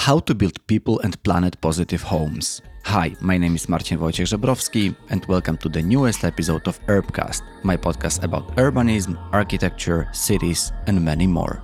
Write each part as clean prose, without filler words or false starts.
How to build people and planet positive homes. Hi, my name is Marcin Wojciech Żebrowski and welcome to the newest episode of Urbcast, my podcast about urbanism, architecture, cities and many more.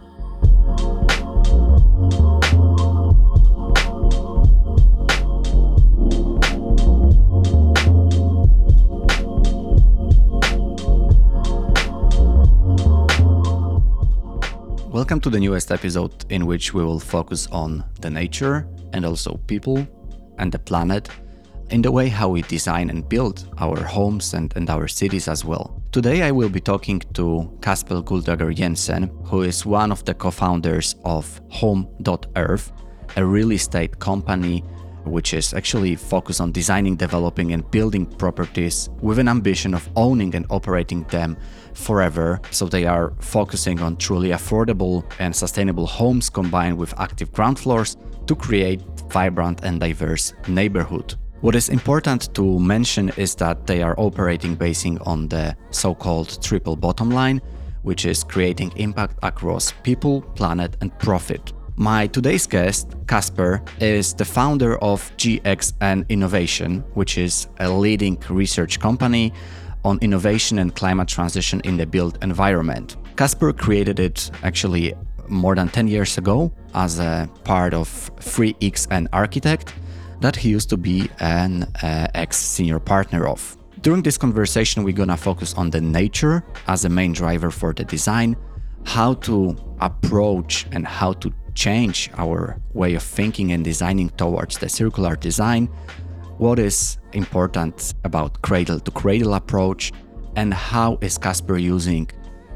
Welcome to the newest episode in which we will focus on the nature and also people and the planet in the way how we design and build our homes and our cities as well. Today I will be talking to Kasper Guldager Jensen, who is one of the co-founders of Home.Earth, a real estate company which is actually focused on designing, developing and building properties with an ambition of owning and operating them forever. So they are focusing on truly affordable and sustainable homes combined with active ground floors to create vibrant and diverse neighborhood. What is important to mention is that they are operating basing on the so-called triple bottom line, which is creating impact across people, planet and profit. My today's guest, Kasper, is the founder of GXN Innovation, which is a leading research company on innovation and climate transition in the built environment. Kasper created it actually more than 10 years ago as a part of 3XN Architect that he used to be an ex-senior partner of. During this conversation, we're gonna focus on the nature as a main driver for the design, how to approach and how to change our way of thinking and designing towards the circular design, what is important about cradle-to-cradle approach, and how is Kasper using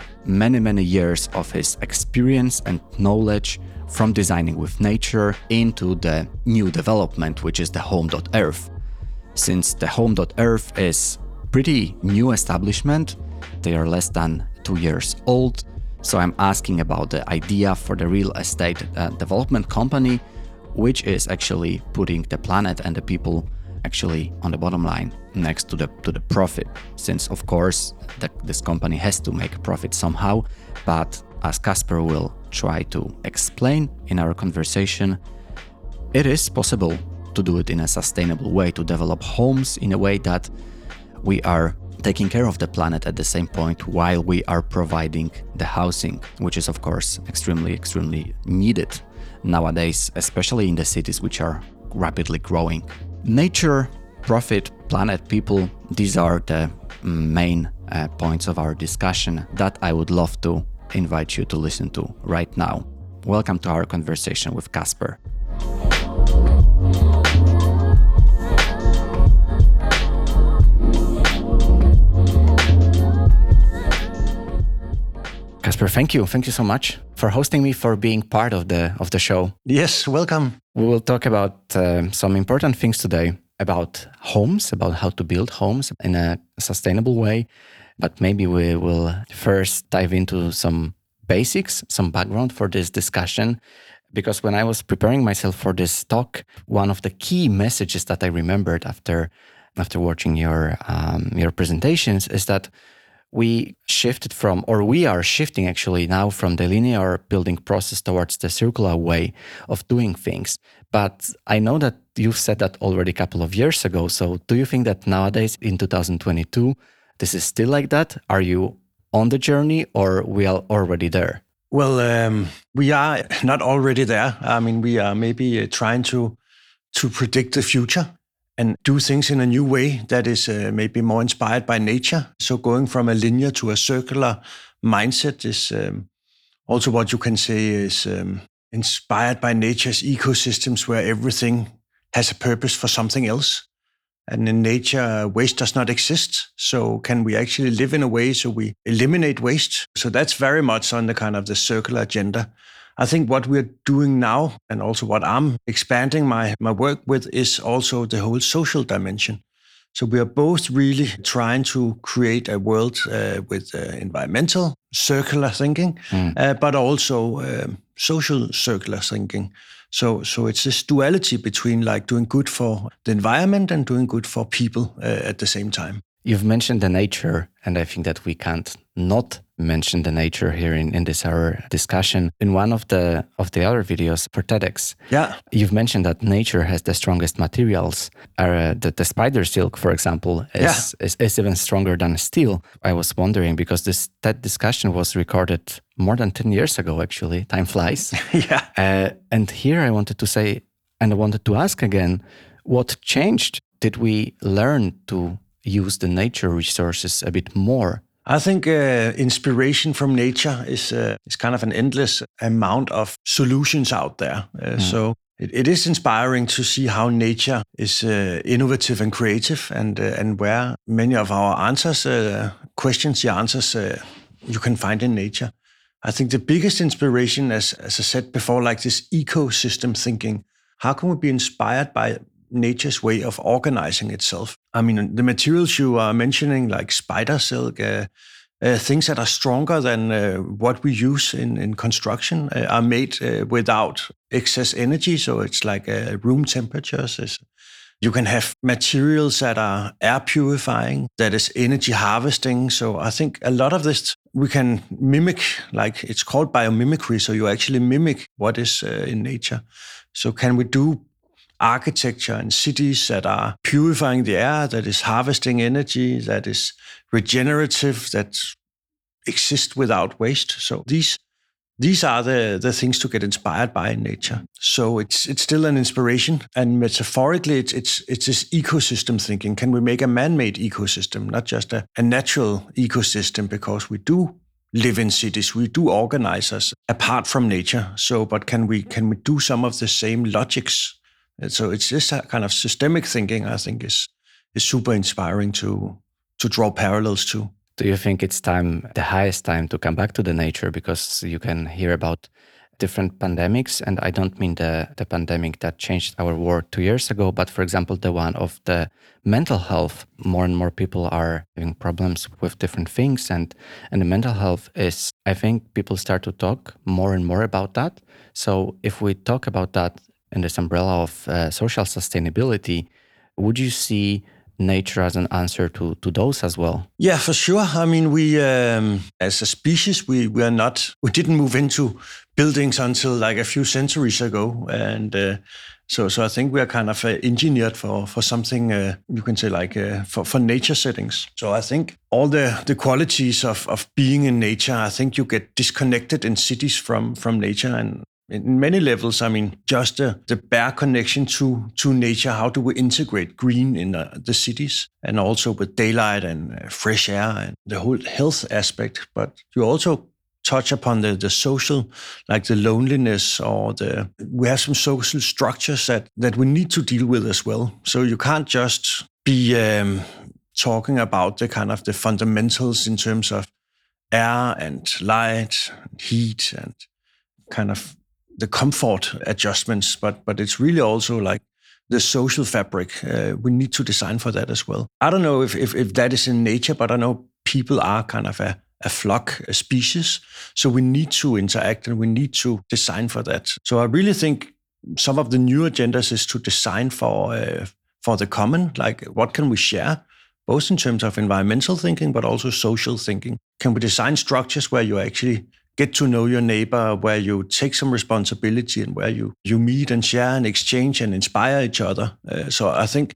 many years of his experience and knowledge from designing with nature into the new development, which is the Home.Earth. Since the Home.Earth is pretty new establishment, they are less than 2 years old. So I'm asking about the idea for the real estate development company, which is actually putting the planet and the people actually on the bottom line next to the profit. Since of course this company has to make a profit somehow, but as Kasper will try to explain in our conversation, it is possible to do it in a sustainable way, to develop homes in a way that we are taking care of the planet at the same point while we are providing the housing, which is of course extremely needed nowadays, especially in the cities which are rapidly growing. Nature, profit, planet, people, these are the main points of our discussion that I would love to invite you to listen to right now. Welcome to our conversation with Kasper. Kasper, thank you so much for hosting me, for being part of the show. Yes, welcome. We will talk about some important things today about homes, about how to build homes in a sustainable way. But maybe we will first dive into some basics, some background for this discussion. Because when I was preparing myself for this talk, one of the key messages that I remembered after watching your presentations is that we are shifting actually now from the linear building process towards the circular way of doing things. But I know that you've said that already a couple of years ago. So do you think that nowadays in 2022, this is still like that? Are you on the journey or we are already there? Well, we are not already there. I mean, we are maybe trying to predict the future and do things in a new way that is maybe more inspired by nature. So going from a linear to a circular mindset is also what you can say is inspired by nature's ecosystems where everything has a purpose for something else. And in nature, waste does not exist. So can we actually live in a way so we eliminate waste? So that's very much on the kind of the circular agenda. I think what we're doing now, and also what I'm expanding my work with, is also the whole social dimension. So we are both really trying to create a world with environmental circular thinking, but also social circular thinking. So it's this duality between like doing good for the environment and doing good for people at the same time. You've mentioned the nature, and I think that we can't not mention the nature here in this our discussion. In one of the other videos for TEDx, you've mentioned that nature has the strongest materials. The spider silk, for example, is even stronger than steel. I was wondering, because that discussion was recorded more than 10 years ago, actually. Time flies. And here I wanted to say, and I wanted to ask again, what changed? Did we learn to use the nature resources a bit more? I think inspiration from nature is kind of an endless amount of solutions out there. So it is inspiring to see how nature is innovative and creative, and where many of our answers, you can find in nature. I think the biggest inspiration, as I said before, like this ecosystem thinking. How can we be inspired by nature's way of organizing itself? I mean, the materials you are mentioning, like spider silk, things that are stronger than what we use in construction, are made without excess energy. So it's like room temperatures. You can have materials that are air purifying, that is energy harvesting. So I think a lot of this we can mimic, like it's called biomimicry. So you actually mimic what is in nature. So can we do architecture and cities that are purifying the air, that is harvesting energy, that is regenerative, that exist without waste? So these are the things to get inspired by in nature. So it's still an inspiration, and metaphorically, it's this ecosystem thinking. Can we make a man-made ecosystem, not just a natural ecosystem? Because we do live in cities, we do organize us apart from nature. So, but can we do some of the same logics? And so it's this kind of systemic thinking, I think, is super inspiring to draw parallels to. Do you think it's the highest time to come back to the nature? Because you can hear about different pandemics, and I don't mean the pandemic that changed our world 2 years ago, but for example, the one of the mental health. More and more people are having problems with different things, and the mental health is, I think people start to talk more and more about that. So if we talk about that in this umbrella of social sustainability, would you see nature as an answer to those as well? Yeah, for sure. I mean, we as a species, we didn't move into buildings until like a few centuries ago, and so I think we are kind of engineered for something you can say like for nature settings. So I think all the qualities of being in nature, I think you get disconnected in cities from nature, and in many levels, I mean, just the bare connection to nature. How do we integrate green in the cities, and also with daylight and fresh air and the whole health aspect? But you also touch upon the social, like the loneliness, or we have some social structures that we need to deal with as well. So you can't just be talking about the kind of the fundamentals in terms of air and light, and heat, and kind of the comfort adjustments, but it's really also like the social fabric. We need to design for that as well. I don't know if that is in nature, but I know people are kind of a flock, a species. So we need to interact, and we need to design for that. So I really think some of the new agendas is to design for the common, like what can we share, both in terms of environmental thinking, but also social thinking. Can we design structures where you actually get to know your neighbor, where you take some responsibility, and where you meet and share and exchange and inspire each other? So I think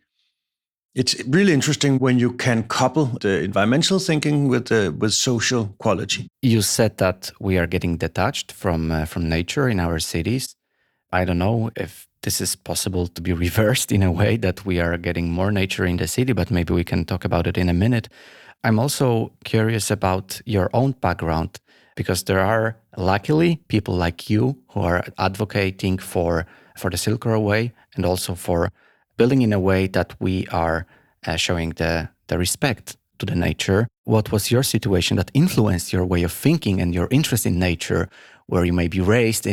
it's really interesting when you can couple the environmental thinking with social quality. You said that we are getting detached from nature in our cities. I don't know if this is possible to be reversed in a way that we are getting more nature in the city, but maybe we can talk about it in a minute. I'm also curious about your own background, because there are, luckily, people like you who are advocating for the Silk Road Way, and also for building in a way that we are showing the respect to the nature. What was your situation that influenced your way of thinking and your interest in nature, where you may be raised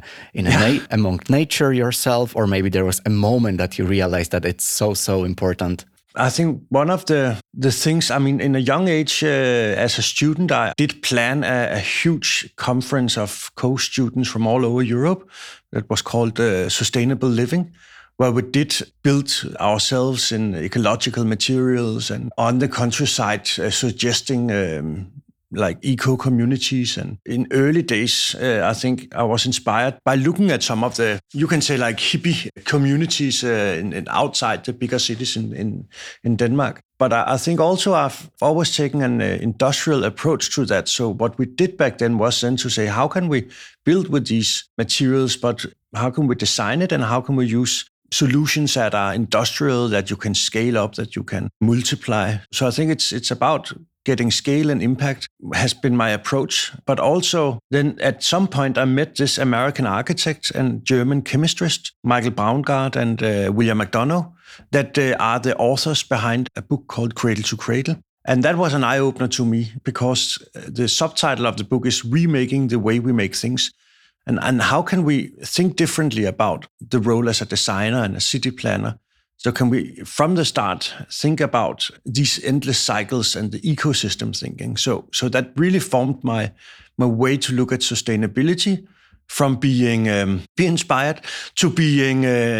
among nature yourself, or maybe there was a moment that you realized that it's so important? I think one of the things, I mean, in a young age, as a student, I did plan a huge conference of co-students from all over Europe that was called Sustainable Living, where we did build ourselves in ecological materials and on the countryside, suggesting like eco-communities. And in early days, I think I was inspired by looking at some of the, you can say like hippie communities outside the bigger cities in Denmark. But I think also I've always taken an industrial approach to that. So what we did back then was then to say, how can we build with these materials, but how can we design it and how can we use solutions that are industrial, that you can scale up, that you can multiply. So I think it's about getting scale and impact has been my approach. But also then at some point I met this American architect and German chemist, Michael Braungart and William McDonough, that are the authors behind a book called Cradle to Cradle. And that was an eye-opener to me because the subtitle of the book is Remaking the Way We Make Things. And how can we think differently about the role as a designer and a city planner? So can we, from the start, think about these endless cycles and the ecosystem thinking? So that really formed my way to look at sustainability, from being be inspired to being,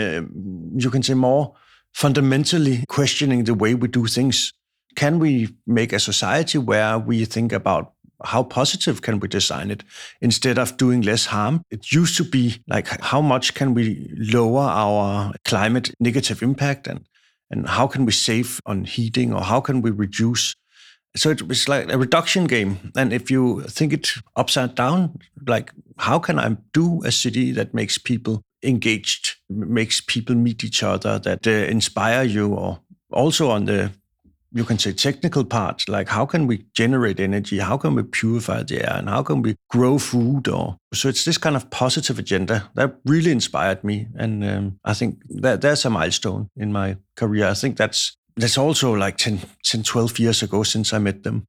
you can say, more fundamentally questioning the way we do things. Can we make a society where we think about how positive can we design it instead of doing less harm? It used to be like, how much can we lower our climate negative impact and how can we save on heating or how can we reduce? So it was like a reduction game. And if you think it upside down, like how can I do a city that makes people engaged, makes people meet each other, that inspire you, or also on the, you can say, technical part, like how can we generate energy, how can we purify the air, and how can we grow food? Or so it's this kind of positive agenda that really inspired me, and I think that there's a milestone in my career. I think that's also like 10, 12 years ago since I met them.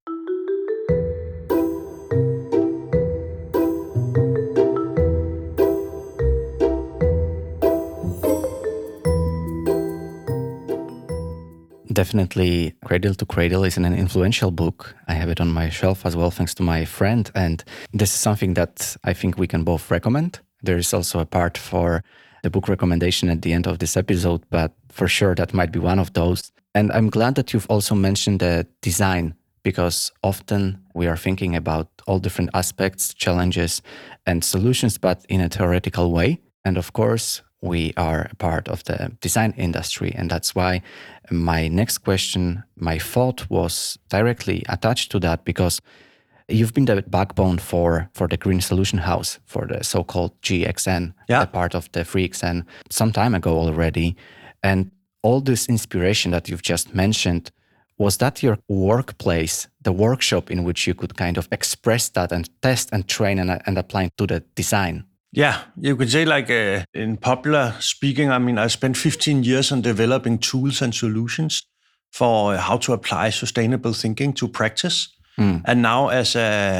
Definitely, Cradle to Cradle is an influential book. I have it on my shelf as well, thanks to my friend. And this is something that I think we can both recommend. There is also a part for the book recommendation at the end of this episode, but for sure that might be one of those. And I'm glad that you've also mentioned the design, because often we are thinking about all different aspects, challenges, and solutions, but in a theoretical way. And of course, we are a part of the design industry. And that's why my next question, my thought was directly attached to that, because you've been the backbone for the Green Solution House, for the so-called GXN, a part of the 3XN some time ago already. And all this inspiration that you've just mentioned, was that your workplace, the workshop in which you could kind of express that and test and train and apply to the design? Yeah, you could say like in popular speaking, I mean, I spent 15 years on developing tools and solutions for how to apply sustainable thinking to practice. And now as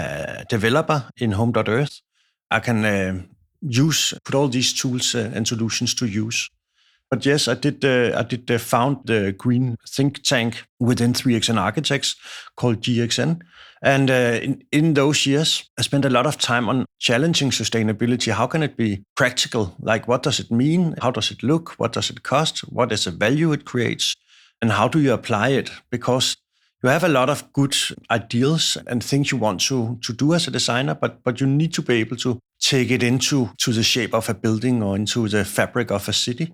a developer in Home.Earth, I can put all these tools and solutions to use. But yes, I did found the green think tank within 3XN Architects called GXN. And in those years, I spent a lot of time on challenging sustainability. How can it be practical? Like, what does it mean? How does it look? What does it cost? What is the value it creates? And how do you apply it? Because you have a lot of good ideals and things you want to do as a designer, but you need to be able to take it into the shape of a building or into the fabric of a city.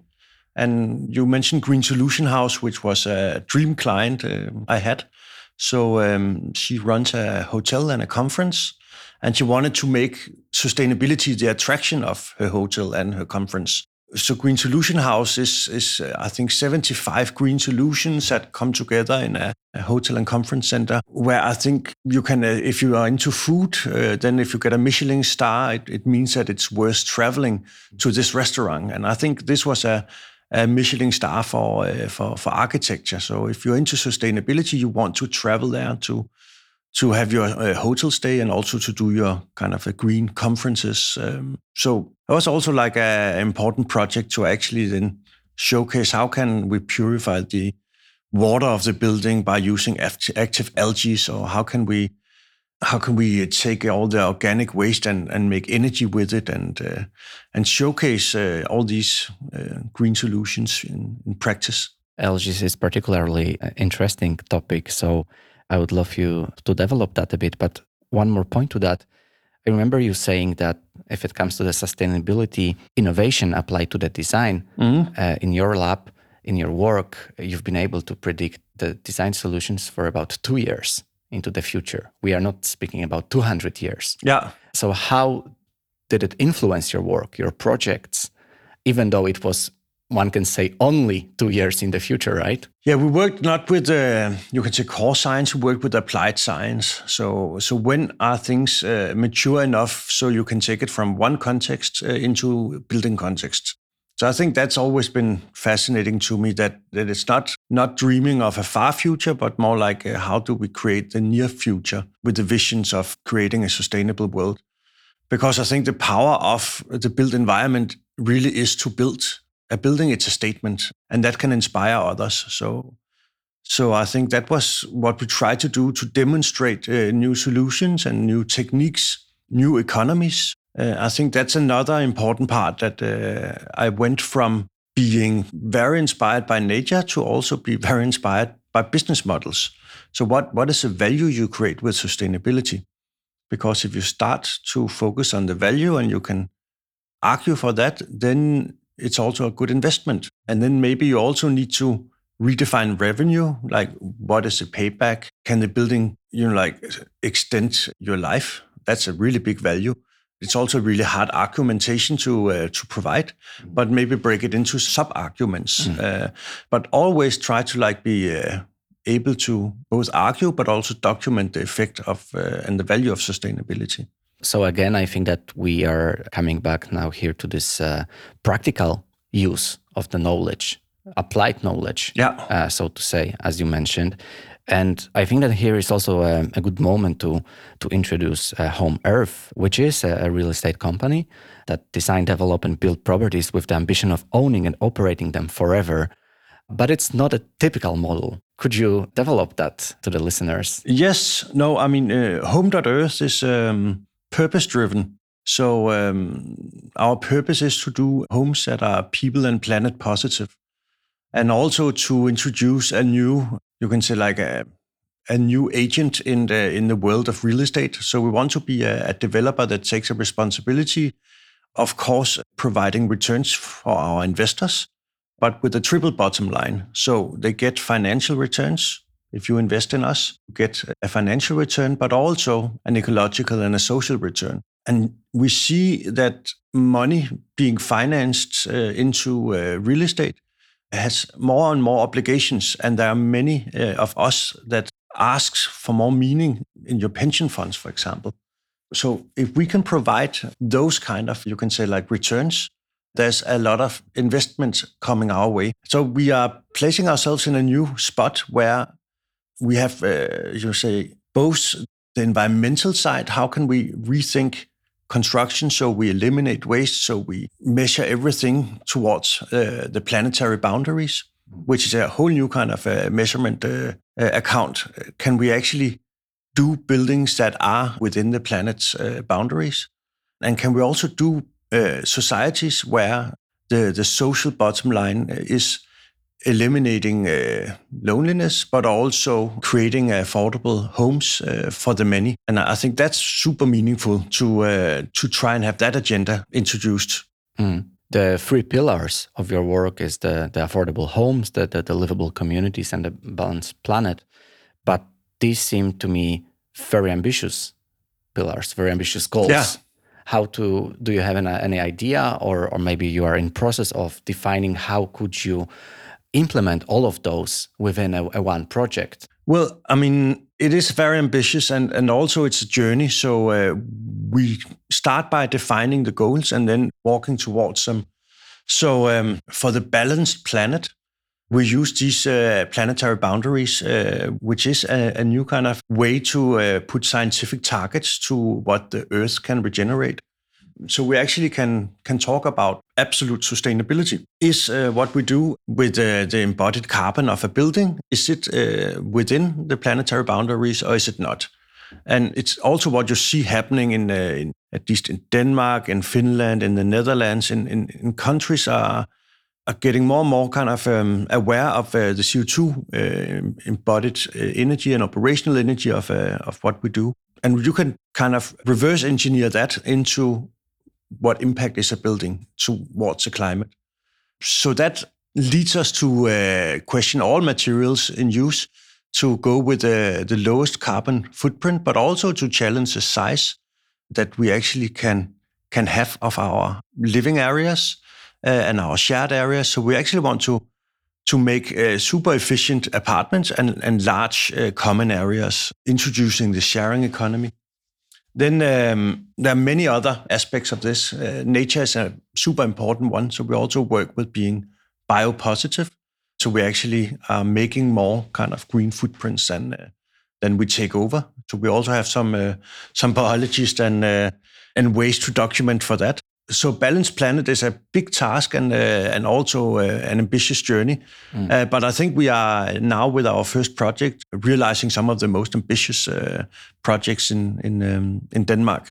And you mentioned Green Solution House, which was a dream client I had. So she runs a hotel and a conference, and she wanted to make sustainability the attraction of her hotel and her conference. So Green Solution House is I think 75 green solutions that come together in a hotel and conference center, where I think you can, if you are into food, then if you get a Michelin star, it means that it's worth traveling to this restaurant. And I think this was a Michelin star for architecture. So if you're into sustainability, you want to travel there to have your hotel stay and also to do your kind of green conferences. So it was also like an important project to actually then showcase how can we purify the water of the building by using active algae, or how can we how can we take all the organic waste and make energy with it and showcase all these green solutions in practice. LGs is particularly interesting topic, so I would love you to develop that a bit. But one more point to that, I remember you saying that if it comes to the sustainability innovation applied to the design in your lab, in your work, you've been able to predict the design solutions for about 2 years into the future. We are not speaking about 200 years. Yeah. So how did it influence your work, your projects, even though it was, one can say, only 2 years in the future, right? Yeah, we worked not with, you can say, core science, we worked with applied science. So when are things mature enough so you can take it from one context into building context? So I think that's always been fascinating to me, that it's not dreaming of a far future, but more like how do we create the near future with the visions of creating a sustainable world? Because I think the power of the built environment really is to build. A building, it's a statement, and that can inspire others. So I think that was what we tried to do, to demonstrate new solutions and new techniques, new economies. I think that's another important part, that I went from being very inspired by nature to also be very inspired by business models. So what is the value you create with sustainability? Because if you start to focus on the value and you can argue for that, then it's also a good investment. And then maybe you also need to redefine revenue, like what is the payback? Can the building, extend your life? That's a really big value. It's also really hard argumentation to provide, but maybe break it into sub-arguments. But always try to be able to both argue, but also document the effect of and the value of sustainability. So again, I think that we are coming back now here to this practical use of the knowledge, applied knowledge, so to say, as you mentioned. And I think that here is also a good moment to introduce Home Earth, which is a real estate company that design, develop, and build properties with the ambition of owning and operating them forever. But it's not a typical model. Could you develop that to the listeners? Yes. No, I mean, Home.Earth is purpose-driven. So our purpose is to do homes that are people and planet positive, and also to introduce a new, you can say, like a new agent in the world of real estate. So we want to be a developer that takes a responsibility, of course, providing returns for our investors, but with a triple bottom line. So they get financial returns. If you invest in us, you get a financial return, but also an ecological and a social return. And we see that money being financed into real estate has more and more obligations. And there are many of us that asks for more meaning in your pension funds, for example. So if we can provide those kind of, you can say, like returns, there's a lot of investment coming our way. So we are placing ourselves in a new spot where we have, both the environmental side. How can we rethink construction so we eliminate waste, so we measure everything towards the planetary boundaries, which is a whole new kind of measurement account. Can we actually do buildings that are within the planet's boundaries? And can we also do societies where the social bottom line is eliminating loneliness, but also creating affordable homes for the many? And I think that's super meaningful to try and have that agenda introduced. The 3 pillars of your work is the affordable homes, the livable communities, and the balanced planet. But these seem to me very ambitious pillars, very ambitious goals. Yeah. Do you have any idea, or maybe you are in process of defining how could you implement all of those within a one project? Well, I mean, it is very ambitious, and also it's a journey. So we start by defining the goals and then walking towards them. So for the balanced planet, we use these planetary boundaries, which is a new kind of way to put scientific targets to what the Earth can regenerate. So we actually can talk about absolute sustainability. Is what we do with the embodied carbon of a building, is it within the planetary boundaries or is it not? And it's also what you see happening in at least in Denmark, in Finland, in the Netherlands, in countries are getting more and more kind of aware of the CO2 embodied energy and operational energy of what we do. And you can kind of reverse engineer that into what impact is a building towards the climate. So that leads us to question all materials in use to go with the lowest carbon footprint, but also to challenge the size that we actually can have of our living areas and our shared areas. So we actually want to make super efficient apartments and large common areas, introducing the sharing economy. Then there are many other aspects of this. Nature is a super important one. So we also work with being biopositive. So we actually are making more kind of green footprints than we take over. So we also have some biologists and ways to document for that. So Balanced Planet is a big task and also an ambitious journey. But I think we are now with our first project realizing some of the most ambitious projects in Denmark.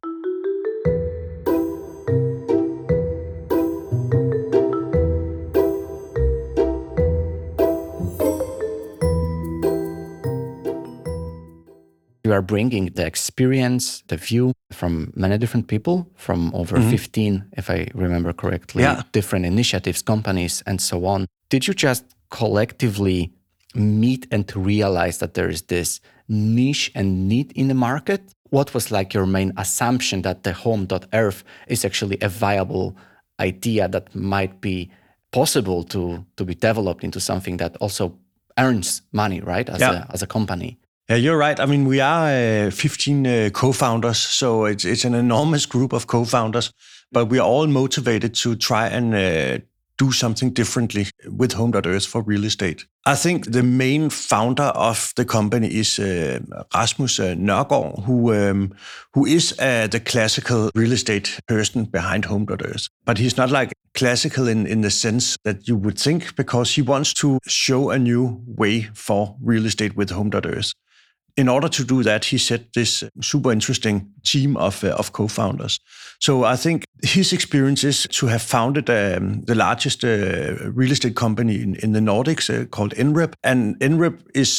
You are bringing the experience, the view from many different people, from over 15, if I remember correctly, different initiatives, companies, and so on. Did you just collectively meet and realize that there is this niche and need in the market? What was like your main assumption that the Home.Earth is actually a viable idea that might be possible to be developed into something that also earns money, right, as a company? Yeah, you're right. I mean, we are 15 co-founders, so it's an enormous group of co-founders, but we are all motivated to try and do something differently with Home.Earth for real estate. I think the main founder of the company is Rasmus Nørgaard, who is the classical real estate person behind Home.Earth. But he's not like classical in the sense that you would think, because he wants to show a new way for real estate with Home.Earth. In order to do that, he set this super interesting team of co-founders. So I think his experience is to have founded the largest real estate company in the Nordics called NREP. And NREP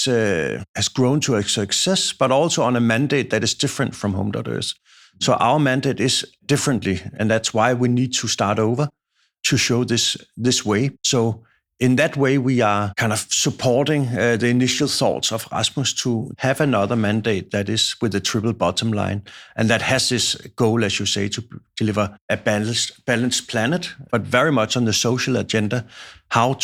has grown to a success, but also on a mandate that is different from Home.Earth. So our mandate is differently, and that's why we need to start over to show this way. So in that way, we are kind of supporting the initial thoughts of Rasmus to have another mandate that is with a triple bottom line, and that has this goal, as you say, to deliver a balanced planet, but very much on the social agenda, how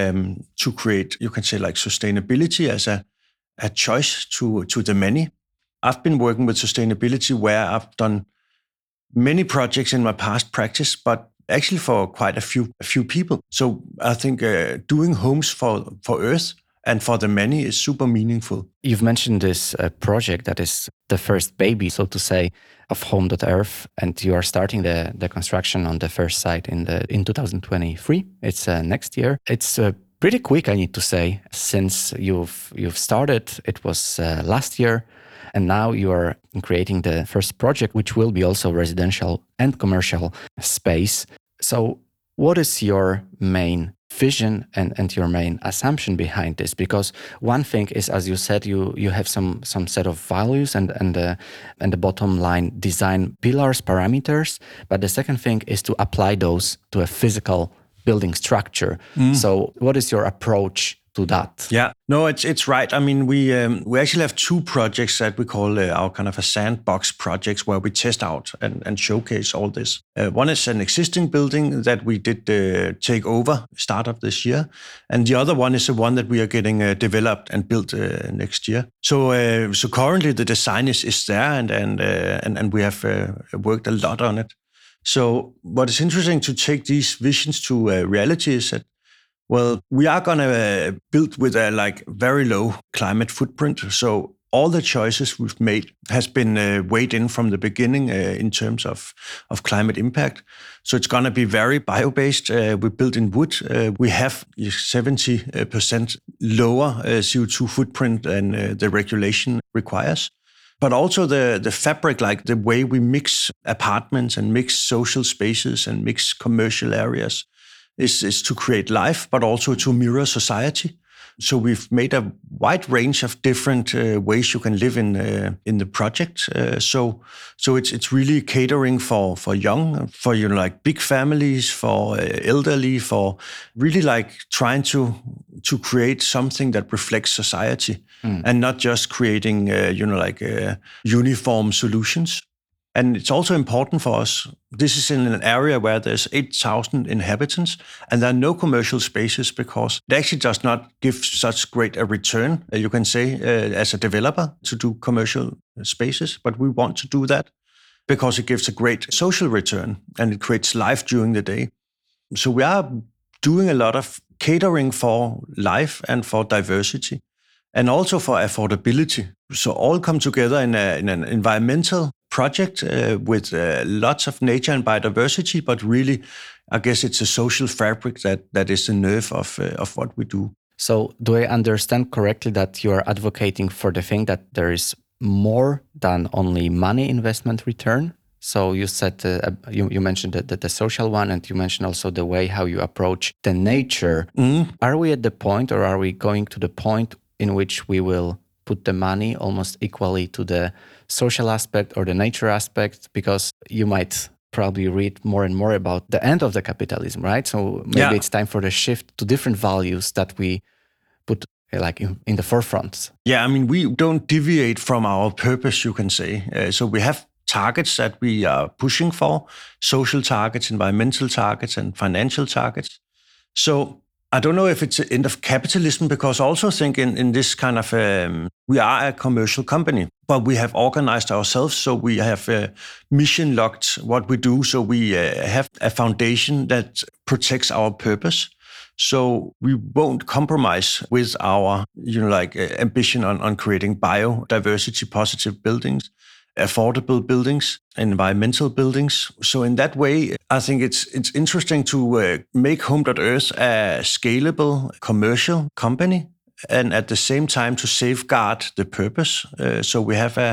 to create, you can say, like sustainability as a choice to the many. I've been working with sustainability where I've done many projects in my past practice, but actually for quite a few people. So I think doing homes for Earth and for the many is super meaningful. You've mentioned this project that is the first baby, so to say, of Home.Earth, and you are starting the construction on the first site in 2023. It's next year. It's pretty quick, I need to say, since you've started. It was last year. And now you are creating the first project, which will be also residential and commercial space. So what is your main vision and your main assumption behind this? Because one thing is, as you said, you have some set of values and the bottom line design pillars, parameters. But the second thing is to apply those to a physical building structure. So what is your approach to that? Yeah, no, it's right. I mean, we actually have two projects that we call our kind of a sandbox projects, where we test out and showcase all this. One is an existing building that we did take over start of this year, and the other one is the one that we are getting developed and built next year. So currently the design is there, and we have worked a lot on it. So what is interesting to take these visions to reality is that, well, we are going to build with a very low climate footprint. So all the choices we've made has been weighed in from the beginning in terms of climate impact. So it's going to be very bio-based. We built in wood. We have 70% lower CO2 footprint than the regulation requires. but also the fabric, like the way we mix apartments and mix social spaces and mix commercial areas is to create life, but also to mirror society. So we've made a wide range of different ways you can live in the project. So it's really catering for young, for like big families, for elderly, for really like trying to create something that reflects society and not just creating uniform solutions. And it's also important for us. This is in an area where there's 8,000 inhabitants, and there are no commercial spaces because it actually does not give such great a return, you can say, as a developer to do commercial spaces. But we want to do that because it gives a great social return and it creates life during the day. So we are doing a lot of catering for life and for diversity and also for affordability. So all come together in an environmental project with lots of nature and biodiversity, but really, I guess it's a social fabric that is the nerve of what we do. So do I understand correctly that you are advocating for the thing that there is more than only money investment return? So you said, you mentioned the social one, and you mentioned also the way how you approach the nature. Are we at the point, or are we going to the point in which we will put the money almost equally to the social aspect or the nature aspect? Because you might probably read more and more about the end of the capitalism, right? So maybe it's time for the shift to different values that we put like in the forefront. Yeah, I mean, we don't deviate from our purpose, you can say. So we have targets that we are pushing for, social targets, environmental targets, and financial targets. So I don't know if it's the end of capitalism, because I also think in this kind of, we are a commercial company, but we have organized ourselves. So we have mission locked what we do. So we have a foundation that protects our purpose. So we won't compromise with our, ambition on creating biodiversity positive buildings, affordable buildings, environmental buildings. So in that way, I think it's interesting to make Home.Earth a scalable commercial company, and at the same time to safeguard the purpose. So we have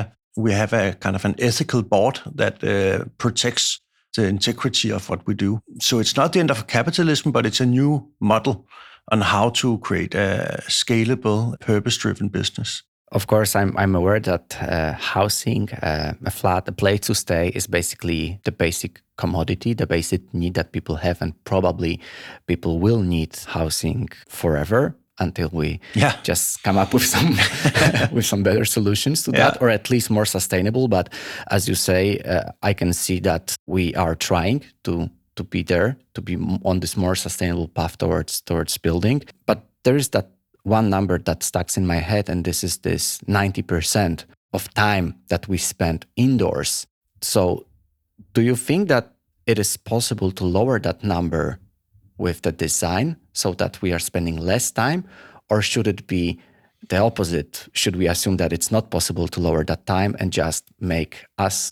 a kind of an ethical board that protects the integrity of what we do. So it's not the end of capitalism, but it's a new model on how to create a scalable, purpose-driven business. Of course, I'm aware that housing, a flat, a place to stay is basically the basic commodity, the basic need that people have, and probably people will need housing forever until we just come up with some with some better solutions to that, or at least more sustainable. But as you say, I can see that we are trying to be there, to be on this more sustainable path towards building. But there is that one number that sticks in my head, and this is this 90% of time that we spend indoors. So do you think that it is possible to lower that number with the design so that we are spending less time? Or should it be the opposite? Should we assume that it's not possible to lower that time and just make us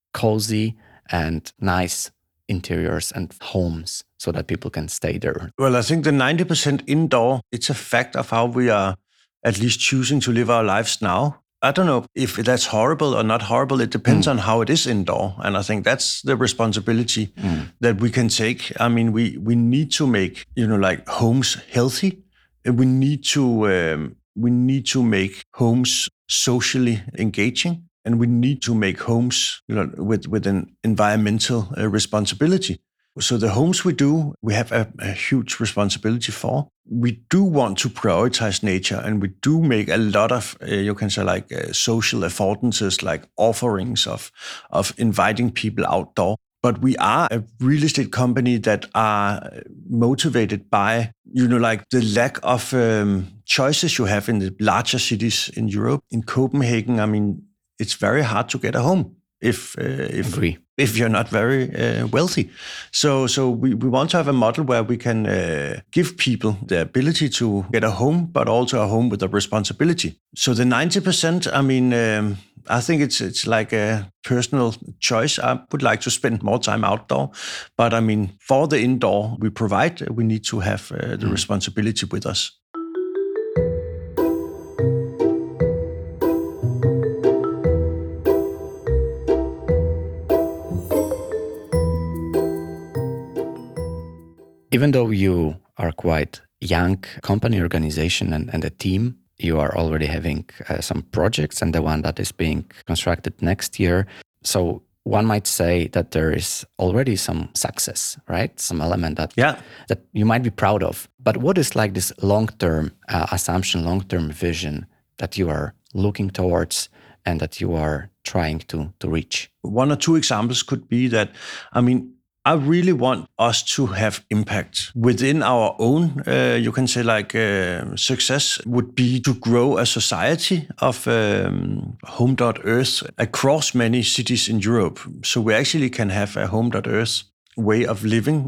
cozy and nice interiors and homes so that people can stay there? Well, I think the 90% indoor, it's a fact of how we are at least choosing to live our lives now. I don't know if that's horrible or not horrible. It depends on how it is indoor. And I think that's the responsibility that we can take. I mean, we need to make, homes healthy. We need to make homes socially engaging. And we need to make homes, with an environmental responsibility. So the homes we do, we have a huge responsibility for. We do want to prioritize nature, and we do make a lot of, social affordances, like offerings of inviting people outdoor. But we are a real estate company that are motivated by, the lack of choices you have in the larger cities in Europe. In Copenhagen, I mean, it's very hard to get a home if you're not very wealthy. So we want to have a model where we can give people the ability to get a home, but also a home with a responsibility. So the 90%, I mean, I think it's like a personal choice. I would like to spend more time outdoor, but I mean, for the indoor we provide, we need to have the responsibility with us. Even though you are quite young company organization and a team, you are already having some projects and the one that is being constructed next year. So one might say that there is already some success, right? Some element that you might be proud of. But what is like this long-term assumption, long-term vision that you are looking towards and that you are trying to reach? One or two examples could be that, I really want us to have impact within our own, you can say success would be to grow a society of Home.Earth across many cities in Europe. So we actually can have a Home.Earth way of living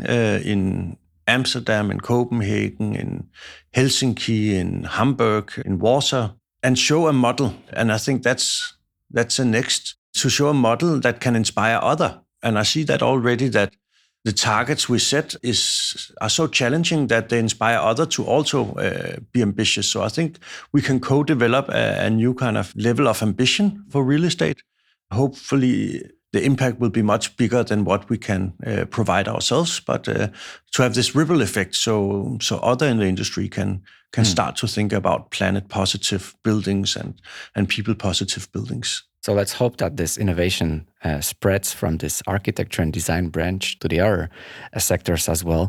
in Amsterdam, in Copenhagen, in Helsinki, in Hamburg, in Warsaw, and show a model. And I think that's the next, to show a model that can inspire other. And I see that already, that the targets we set are so challenging that they inspire others to also be ambitious. So I think we can co-develop a new kind of level of ambition for real estate. Hopefully, the impact will be much bigger than what we can provide ourselves, but to have this ripple effect, so other in the industry can start to think about planet positive buildings and people positive buildings. So let's hope that this innovation spreads from this architecture and design branch to the other sectors as well.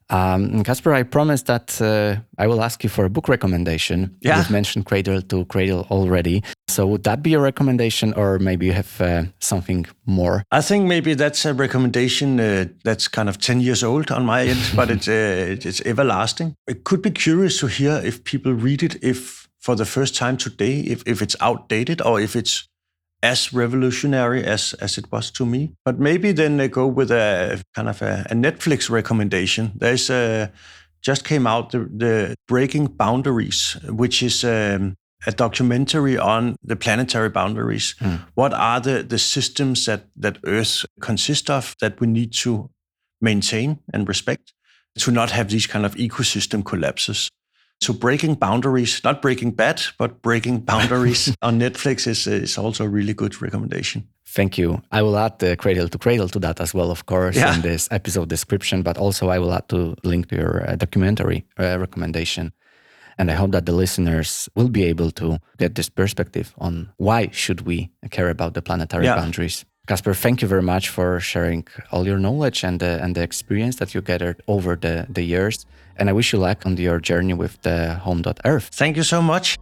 Kasper, I promised that I will ask you for a book recommendation. Yeah. You've mentioned Cradle to Cradle already. So would that be a recommendation, or maybe you have something more? I think maybe that's a recommendation that's kind of 10 years old on my end, but it's everlasting. It could be curious to hear if people read it, if for the first time today, if it's outdated or if it's as revolutionary as it was to me. But maybe then they go with a kind of a Netflix recommendation. There's just came out the Breaking Boundaries, which is a documentary on the planetary boundaries. What are the systems that Earth consists of that we need to maintain and respect to not have these kind of ecosystem collapses? So Breaking Boundaries, not Breaking Bad, but Breaking Boundaries on Netflix is also a really good recommendation. Thank you. I will add the Cradle to Cradle to that as well, of course, in this episode description, but also I will add to link to your documentary recommendation. And I hope that the listeners will be able to get this perspective on why should we care about the planetary boundaries. Kasper, thank you very much for sharing all your knowledge and the experience that you gathered over the years. And I wish you luck on your journey with the Home.Earth. Thank you so much.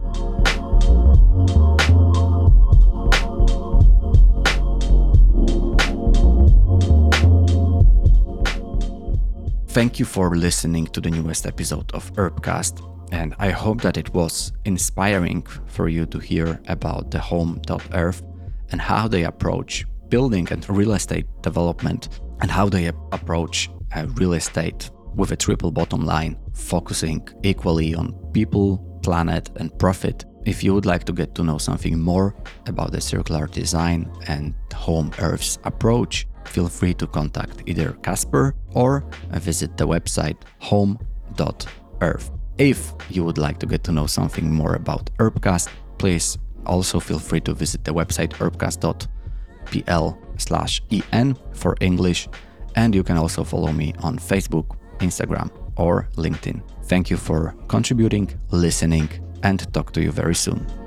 Thank you for listening to the newest episode of Urbcast. And I hope that it was inspiring for you to hear about the Home.Earth and how they approach building and real estate development, and how they approach real estate with a triple bottom line, focusing equally on people, planet, and profit. If you would like to get to know something more about the circular design and Home.Earth's approach, feel free to contact either Kasper or visit the website home.earth. If you would like to get to know something more about Urbcast, please also feel free to visit the website urbcast.pl/en for English, and you can also follow me on Facebook, Instagram, or LinkedIn. Thank you for contributing, listening, and talk to you very soon.